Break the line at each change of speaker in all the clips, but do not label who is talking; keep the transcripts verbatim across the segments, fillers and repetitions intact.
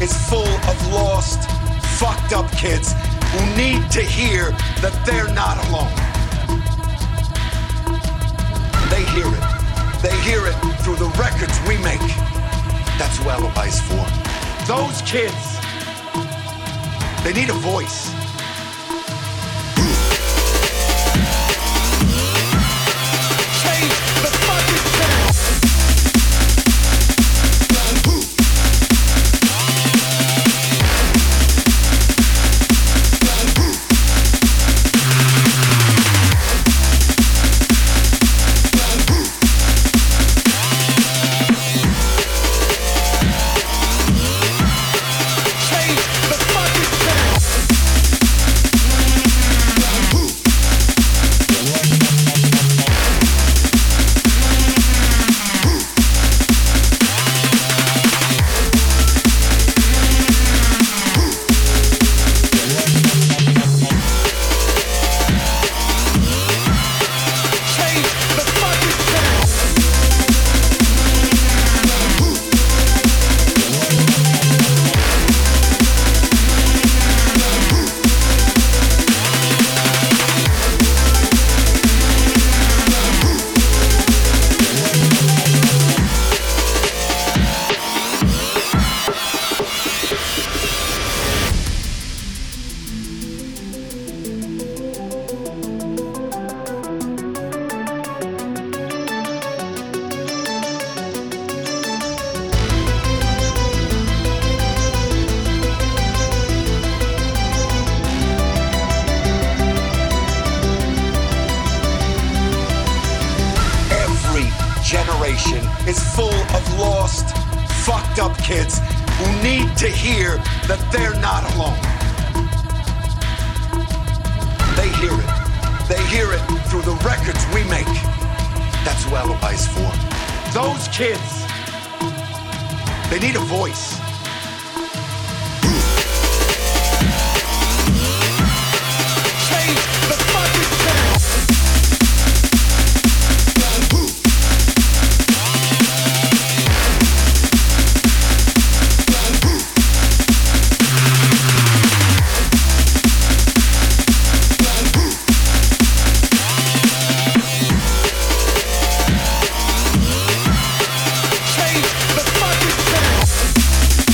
is full of lost, fucked up kids who need to hear that they're not alone. They hear it. They hear it through the records we make. That's who Alibi's for. Those kids, they need a voice. Change the fucking sound. Is full of lost, fucked up kids who need to hear that they're not alone. They hear it. They hear it through the records we make. That's who Alibi's for. Those kids, they need a voice. Change the fucking sound. Change the fucking sound.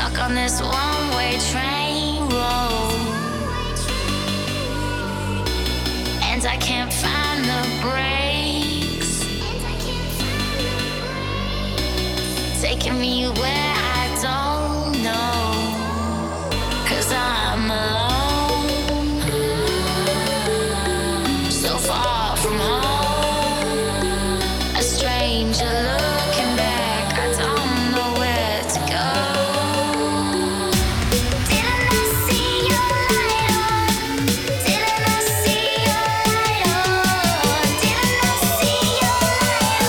Stuck on this one-way train road, and I can't find the brakes, taking me where I don't know, 'cause I'm alone, so far from home, a stranger looking back, I don't know where to go. Didn't I see your light on? Didn't I see your light on? Didn't I see your light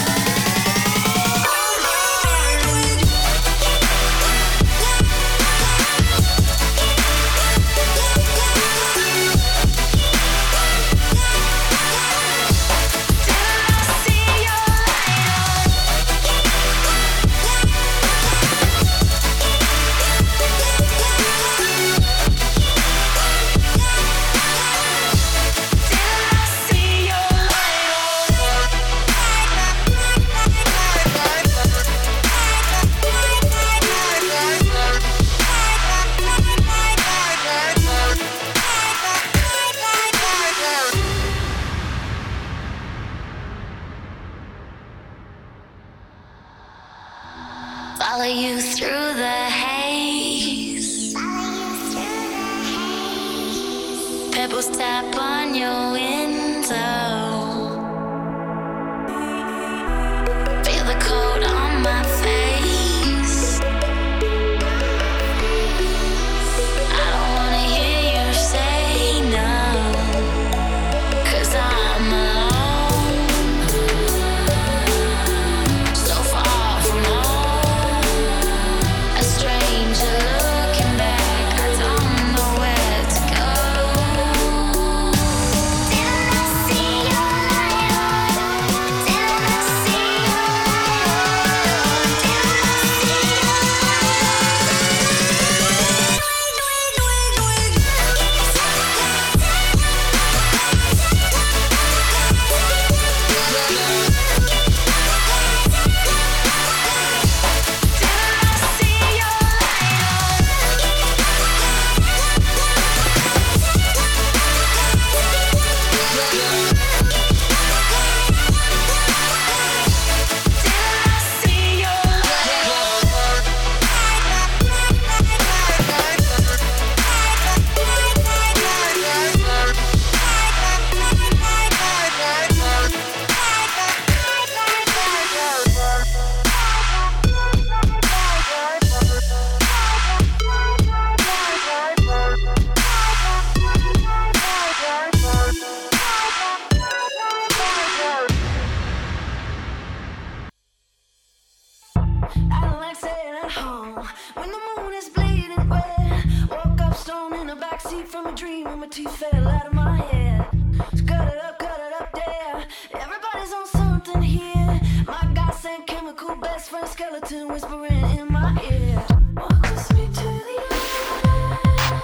follow you through the haze. Pebbles tap on your window. Feel the cold on my face. I don't wanna hear you say no, 'cause I'm alone, so far from home, a stranger looking back, I don't know where to go. Didn't I see your light on? Didn't I see your light on? Didn't I see your
I don't like staying at home when the moon is bleeding red. Woke up stoned in the backseat from a dream and my teeth fell out of my head. So cut it up, cut it up there. Everybody's on something here. My godsend chemical best friend skeleton whispering in my ear. Walk with me to the end.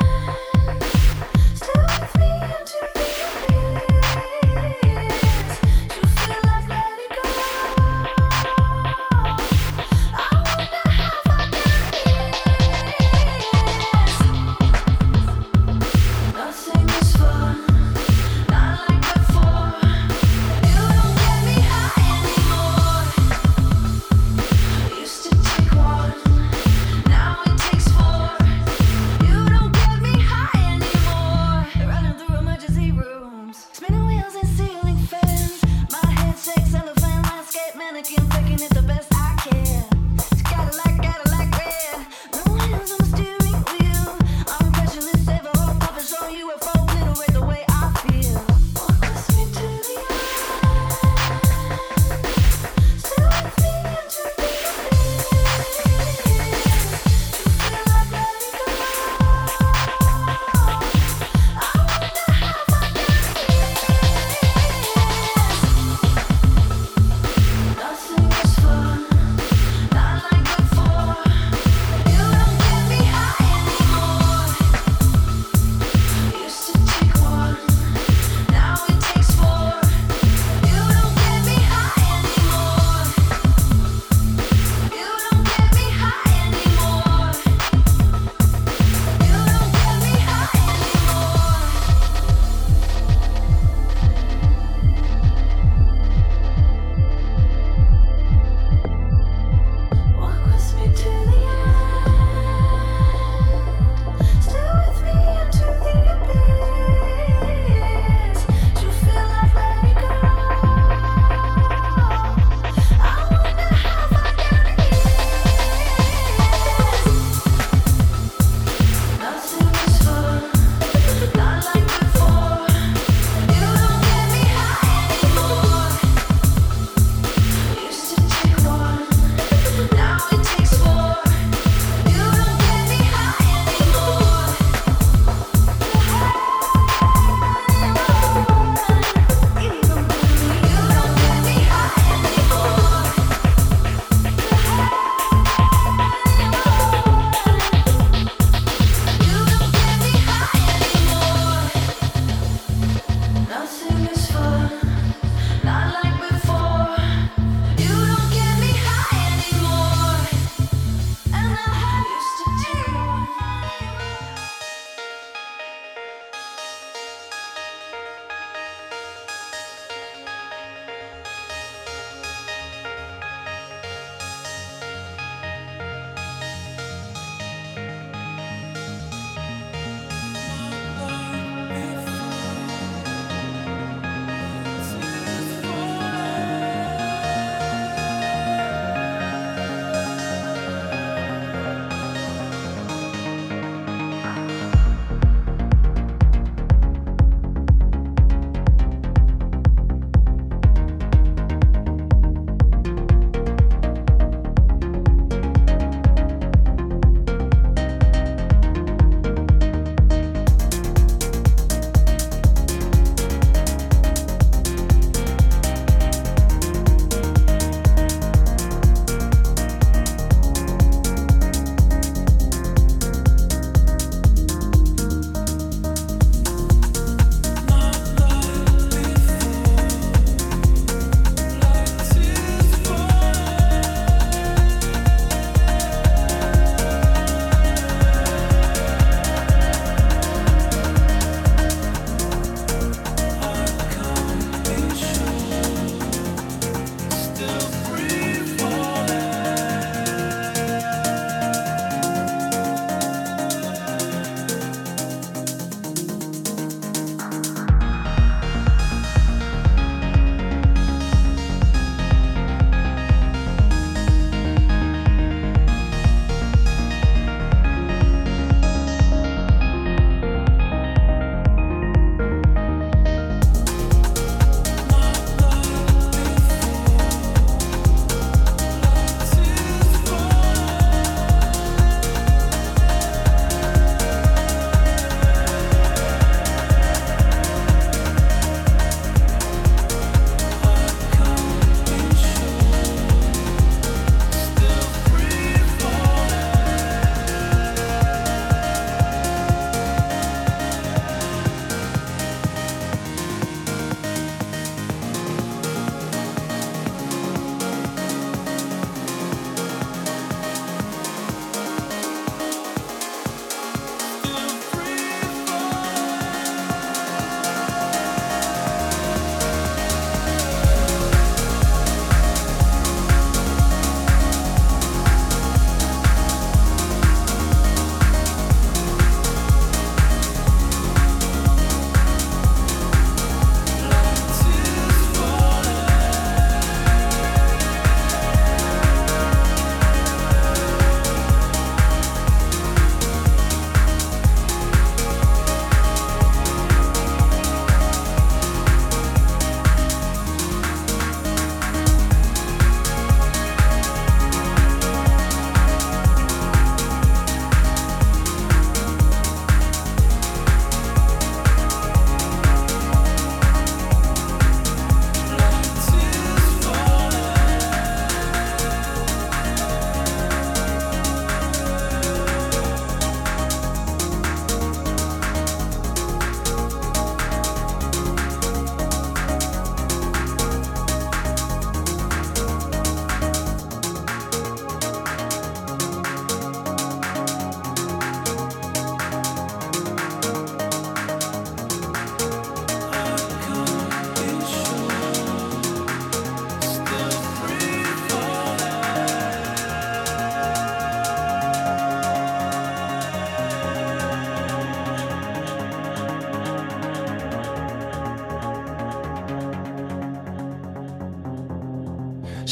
Stay with me until the end. You feel like let it go. I wonder how far down this. Nothing is fun, not like before. You don't get me high anymore. Used to take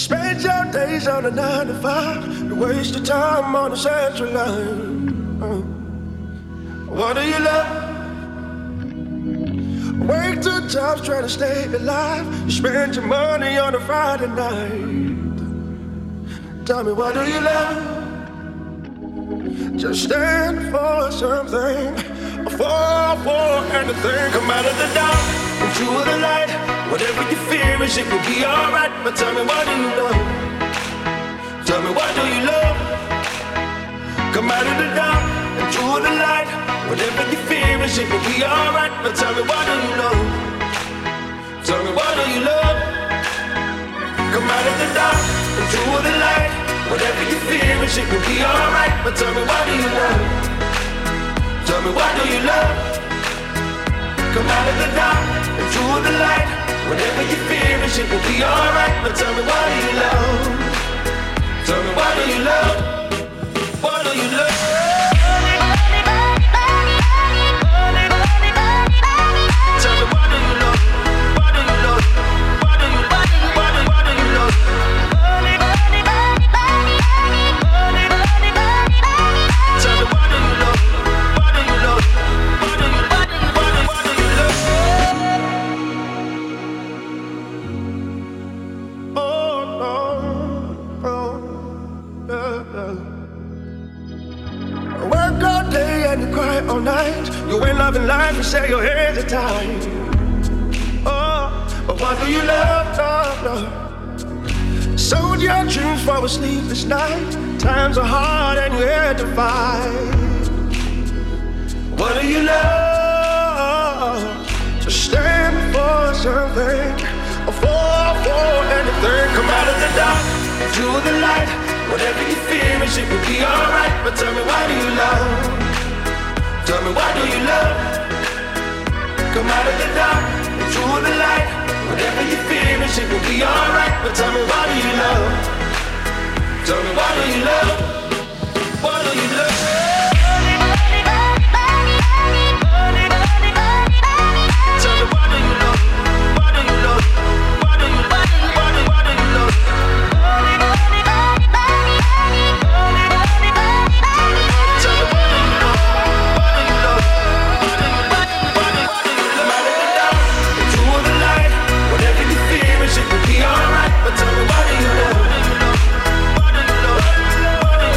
Spend your days on a nine to five. You waste your time on the central line. Uh, what do you love? Work two jobs trying to stay alive. You spend your money on a Friday night. Tell me, what do you love? Just stand for something, fall for anything. Come out of the dark, into the light. Whatever you fear is, it will be alright. But tell me, what do you love? Tell me, what do you love? Come out of the dark, into the light. Whatever you fear is, it will be alright. But tell me, what do you love? Tell me, what do you love? Come out of the dark, into the light. Whatever you fear is, it will be alright. But tell me, what do you love? Tell me, what do you love? Come out of the dark, into the light. Whatever you fear is, it will be alright. But tell me, what do you love? Tell me, what do you love? What do you love? Tell me, what do you love? What do you love? What do you love? What do, what do you love? Tell me, what do you love? What do you love? What do you, what do, what do, what do you love? Oh, no, oh, yeah, yeah. Work all day and you cry all night. You ain't loving life and say your hands are tied. Oh, but what do you love? Oh, no. Sold your dreams for a sleepless night. Times are hard and you had to fight. What do you love? Just stand for something, or fall for anything. Come out of the dark, into the light. Whatever you fear is, it will be alright. But tell me, why do you love? Tell me, why do you love? Come out of the dark, into the light. Whatever you fear is, it will be alright. But tell me, why do you love? Tell me, why do you love? Why do you love? Tell me, why do you love? Why do you love? Why do you, why do you, why do, why do you love? Tell me, why do you love? Why do you love? Why do you, why do, why do, why do you love? Come out of the dark, into the light. Whatever you fear is, it will be alright. But tell me, why do you love? Why do you love? Why do you love? Why do you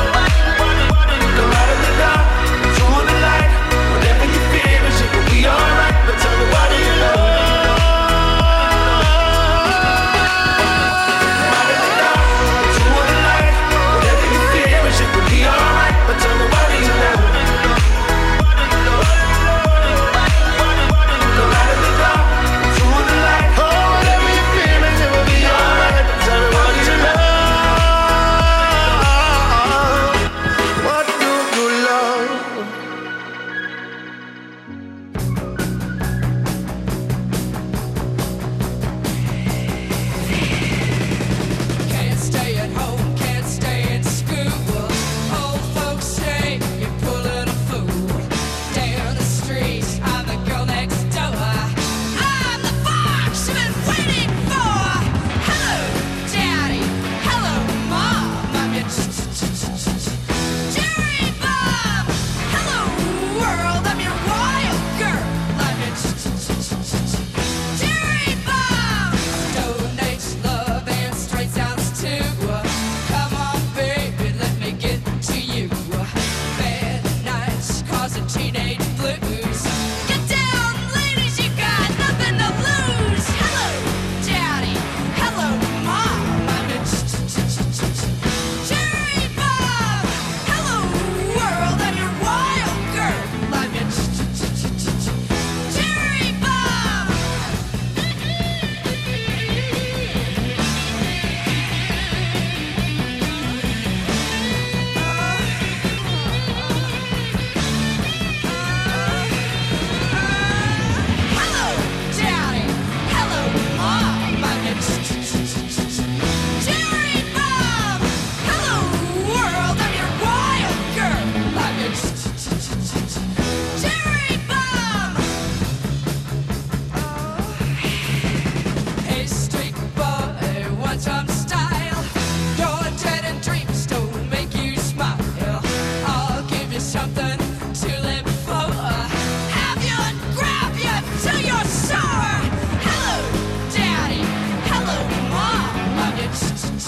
something to live for. Have you and grab you till you're sore. Hello, Daddy. Hello, Mom. Love you.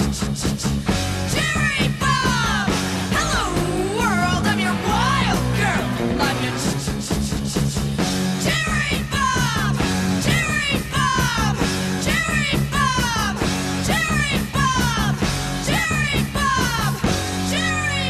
Jerry Bob. Hello, world. I'm your wild girl. Love you. Jerry Bob. Jerry Bob. Jerry Bob. Jerry Bob. Jerry Bob. Jerry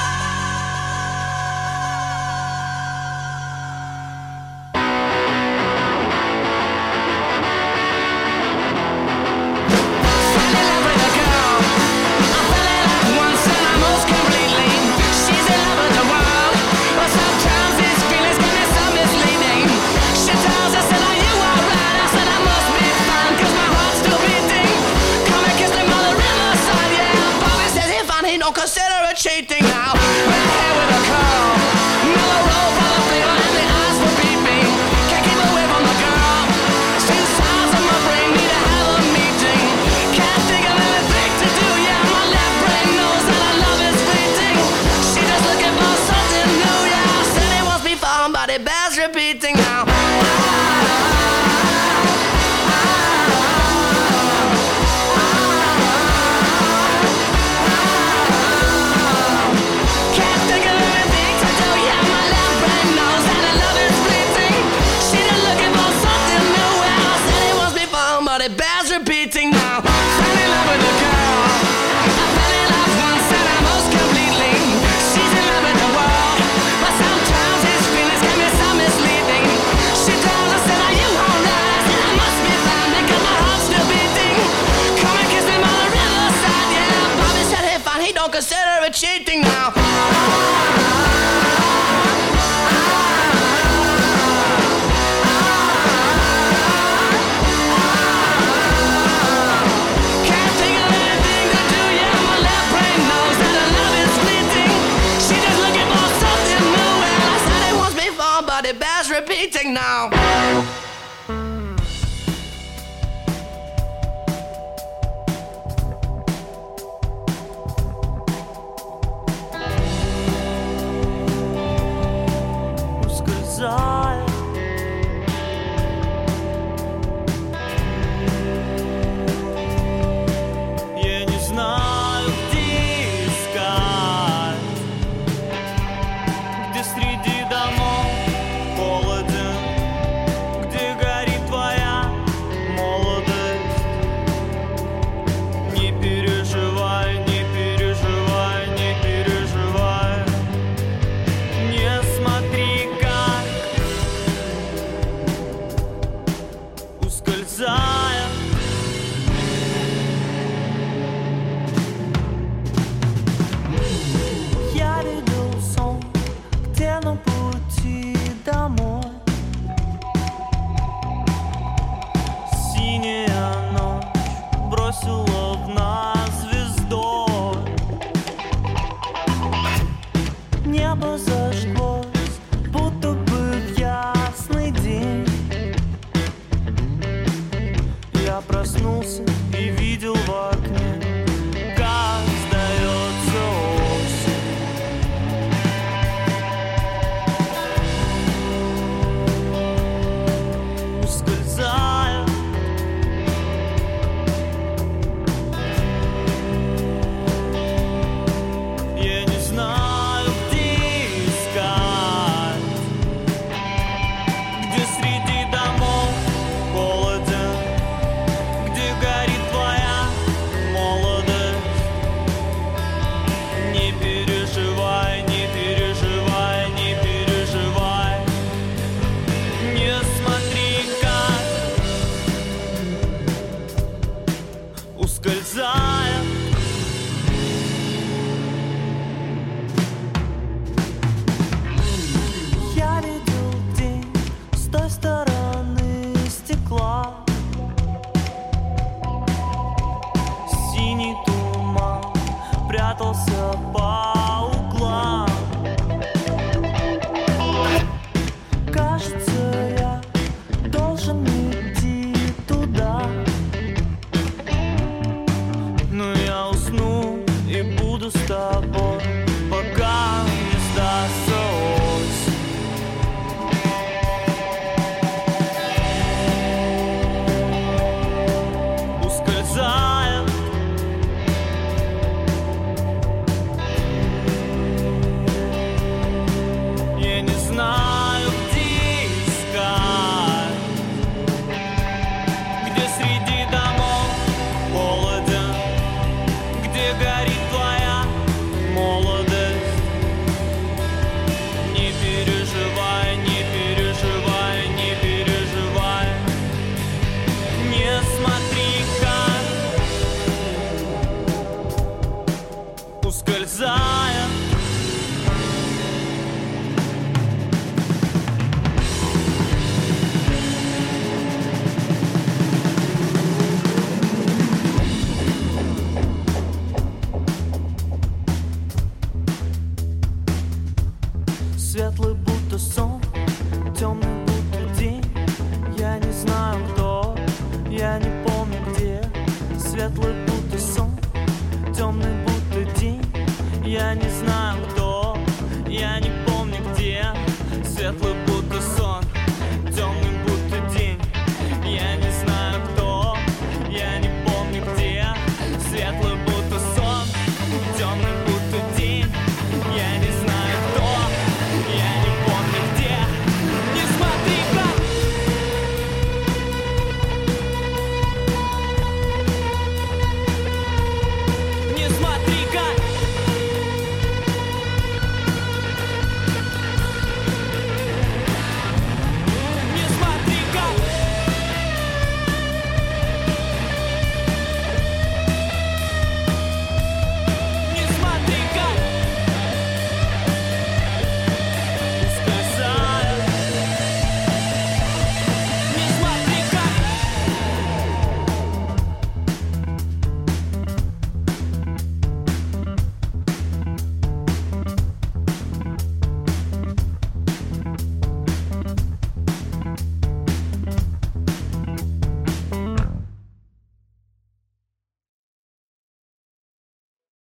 don't consider it cheating now. Red hair with a curl, mellow roll for the flavor and the eyes for peeping. Can't keep away from the girl. Two sides of my brain need to have a meeting. Can't think of anything to do. Yeah, my left brain knows that our love is fleeting. She just looking for something new. Yeah, I said it wants me found, but it bears repeating now. It bears repeating now. Fell in love with a girl. I fell in love once and I most completely. She's in love with the world, but sometimes his feelings can be so misleading. She tells us that are you alright? I said I must be fine because my heart's still beating. Come and kiss him on the riverside. Yeah, Bobby said hey fine, he don't consider it cheating now. It bears repeating now.
Ускользая, я не знаю, где искать, где среди домов холоден, где горит твоя молодость. Не переживай, не переживай, не переживай. Не смотри, как ускользая. Я видел сон, где на пути домой синяя ночь бросила в нас звездой. Небо зажглось, будто бы в ясный день. Я проснулся и видел в окне, как сдается осень. Ускользая, я не знаю, где искать, где среди домов холоден, где горит твоя молодость. Не переживай, не переживай, не переживай. Не смотри, как ускользая. Я видел день с той стороны стекла. Синий туман прятался по углам. Кажется, я должен идти туда, но я усну и буду с тобой, пока не сдастся светлый, будто сон.